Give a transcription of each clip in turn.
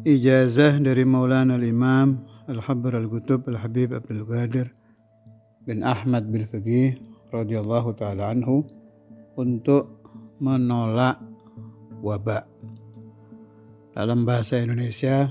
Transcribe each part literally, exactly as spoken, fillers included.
Ijazah dari Maulana al-Imam Al-Habr Al-Qutub Al-Habib Abdul Qadir bin Ahmad Bil-Fiqih radhiyallahu ta'ala anhu untuk menolak wabah. Dalam bahasa Indonesia,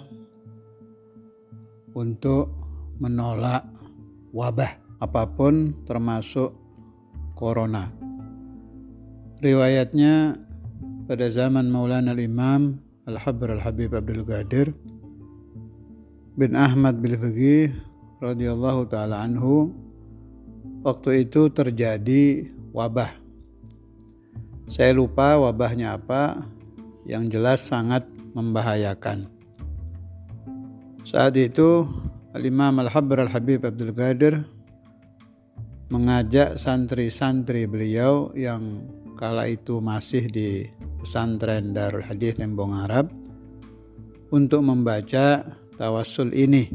untuk menolak wabah apapun termasuk corona. Riwayatnya pada zaman Maulana al-Imam Al-Habr Al-Habib Abdul Qadir bin Ahmad Bil-Fiqih radhiyallahu ta'ala anhu, waktu itu terjadi wabah. Saya lupa wabahnya apa, yang jelas sangat membahayakan. Saat itu Al-Imam Al-Habr Al-Habib Abdul Qadir mengajak santri-santri beliau yang kala itu masih di pesantren Darul Hadits Tembong Arab untuk membaca tawassul ini.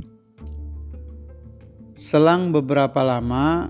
Selang beberapa lama,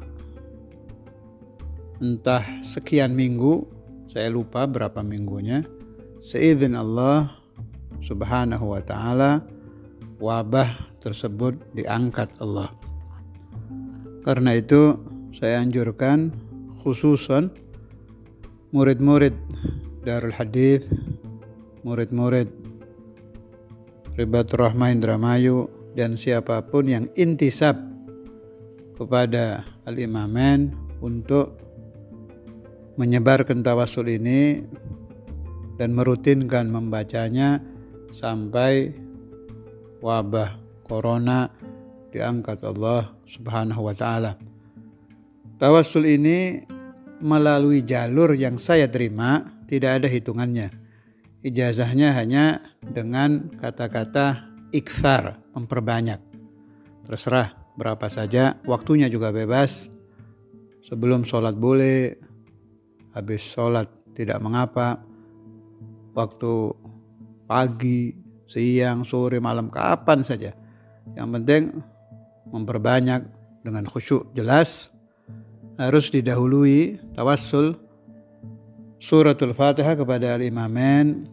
entah sekian minggu, saya lupa berapa minggunya, seizin Allah subhanahu wa ta'ala, wabah tersebut diangkat Allah. Karena itu saya anjurkan khususan murid-murid Darul Hadits, murid-murid Ribatul Rahmah Indramayu, dan siapapun yang intisab kepada Al-Imamain untuk menyebarkan tawassul ini dan merutinkan membacanya sampai wabah corona diangkat Allah subhanahu wa ta'ala. Tawassul ini melalui jalur yang saya terima tidak ada hitungannya. Ijazahnya hanya dengan kata-kata ikthar, memperbanyak. Terserah berapa saja, waktunya juga bebas. Sebelum sholat boleh, habis sholat tidak mengapa, waktu pagi, siang, sore, malam, kapan saja. Yang penting memperbanyak dengan khusyuk. Jelas harus didahului tawassul suratul Fatihah kepada Al-Imamain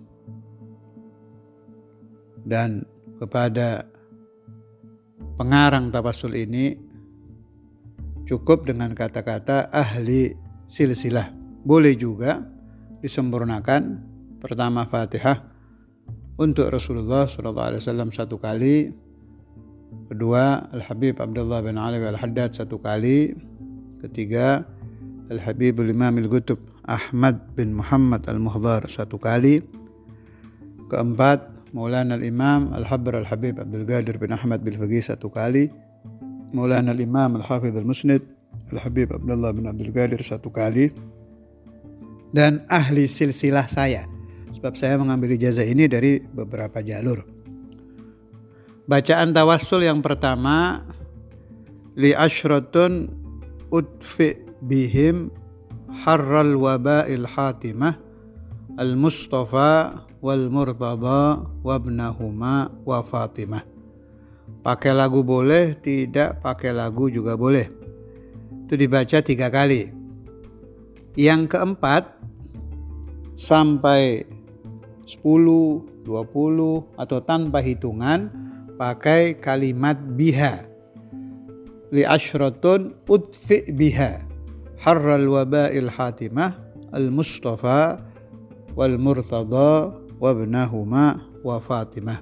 dan kepada pengarang tawassul ini cukup dengan kata-kata ahli silsilah. Boleh juga disempurnakan, pertama Fatihah untuk Rasulullah shallallahu alaihi wasallam satu kali, kedua Al-Habib Abdullah bin Ali Al-Haddad satu kali, ketiga Al-Habibul Imam Al-Qutub Ahmad bin Muhammad Al-Muhdhar satu kali, keempat Maulana Al-Imam Al-Habr Al-Habib Abdul Qadir bin Ahmad Bil-Fiqih satu kali, Maulana Al-Imam Al-Hafidh Al-Musnid Al-Habib Abdullah bin Abdul Qadir satu kali, dan ahli silsilah saya, sebab saya mengambil ijazah ini dari beberapa jalur. Bacaan tawassul yang pertama, li asyratun udfi bihim harral waba'il hatimah al-Mustafa wal Murtada wabnahuma wa Fatimah. Pakai lagu boleh, tidak pakai lagu juga boleh. Itu dibaca tiga kali. Yang keempat sampai sepuluh, dua puluh atau tanpa hitungan pakai kalimat biha. Li asyratun udfi biha harral waba'il hatimah al-Mustafa wal Murtada wabnahuma wa Fatimah.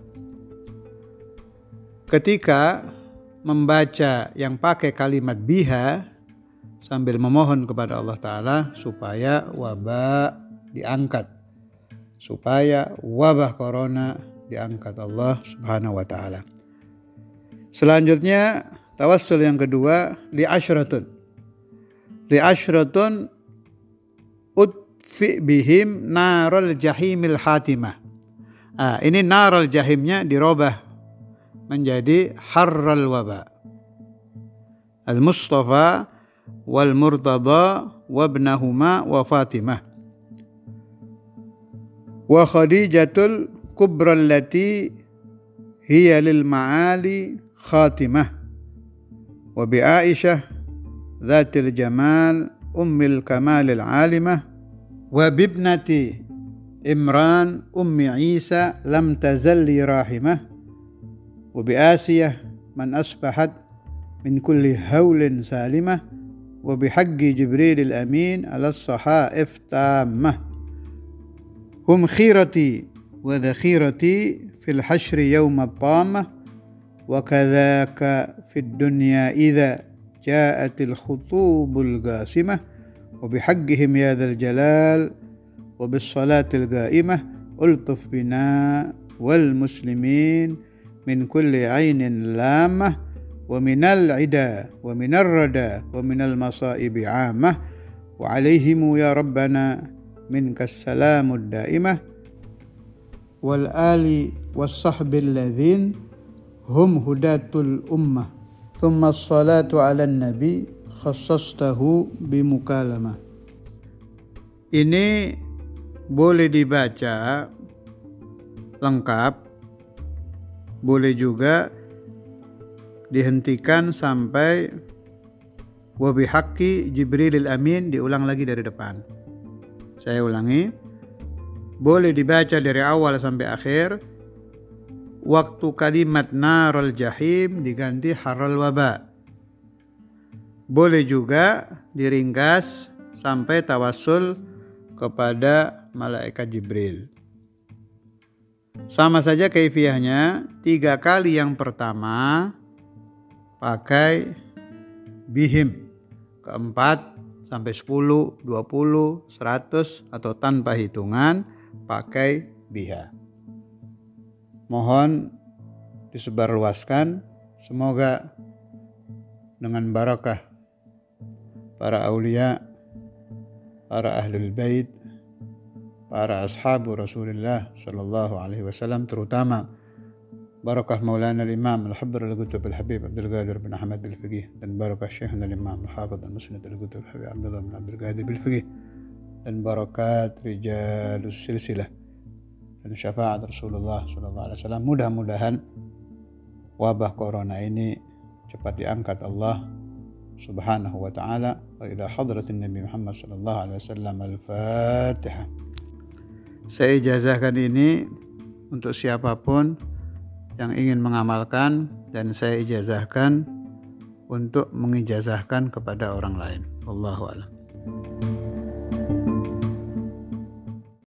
Ketika membaca yang pakai kalimat biha sambil memohon kepada Allah Ta'ala supaya wabah diangkat, supaya wabah corona diangkat Allah Subhanahu wa Ta'ala. Selanjutnya tawassul yang kedua, li asyratun li asyratun udfi bihim naral jahimil hatimah. Ah, ini naral jahimnya dirobah menjadi harral waba. Al-Mustafa wal Murtada wabnahuma wa Fatimah. Wa Khadijatul kubra allati hiya lil ma'ali khatimah. Wa bi Aisyah dhatil jamal ummil kamalil alimah. Wa bibnati Imran ummi Isa lam tazalli rahimah. wa bi Asiyah man asbahat min kulli haulin salimah wa bi haqqi Jibril al-amin ala sahaif tammah hum khirati wa dhakhirati fil hashri yawm at-tamah wa kadzaka fid dunya idza ja'atil khutubul ghasimah wa bi haqqihim ya dzal jalal wa bis salatil ghaimah ultuf bina wal muslimin min kulli ainin lamah wa minal ida wa minar rada wa minal masaibi amah wa alaihimu ya rabbana minkas salamud daimah wal ali was sahbil ladzin hum hudatul ummah thumma as-salatu ala nabi khassastahu bimukalamah. Ini boleh dibaca lengkap, boleh juga dihentikan sampai wa bihaqqi Jibrilil amin, diulang lagi dari depan. Saya ulangi, boleh dibaca dari awal sampai akhir. Waktu kalimat narul jahim diganti harral waba. Boleh juga diringkas sampai tawassul kepada malaikat Jibril. Sama saja kaifiyahnya, tiga kali yang pertama pakai bihim, keempat sampai sepuluh, dua puluh, seratus atau tanpa hitungan pakai biha. Mohon disebarluaskan, semoga dengan barakah para aulia, para ahlul bait, para ashabu Rasulullah sallallahu alaihi wasallam, terutama barakah Maulana al-Imam al-Habr al-Qutb al-Habib Abdul Qadir bin Ahmad al-Fiqih, dan barakah Syekhna al-Imam al-Hafidh al-Musnad al-Qutb al-Habib Abdullah bin Abdul Qadir al-Fiqih, dan barakat rijalus silsilah dan syafaat Rasulullah sallallahu alaihi wasallam. Mudah-mudahan wabah corona ini cepat diangkat Allah subhanahu wa ta'ala. Wa ila hadratin Nabi Muhammad sallallahu alaihi wasallam. Al-Fatihah. Saya ijazahkan ini untuk siapapun yang ingin mengamalkan, dan saya ijazahkan untuk mengijazahkan kepada orang lain. Wallahu a'lam.